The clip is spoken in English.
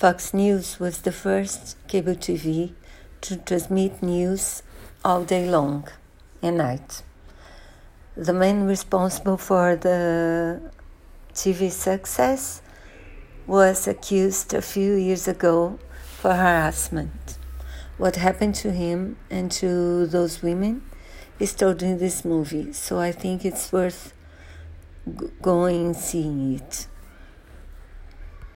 Fox News was the first cable TV to transmit news all day long and night. The man responsible for the TV success was accused a few years ago for harassment. What happened to him and to those women is told in this movie, so I think it's worth going and seeing it.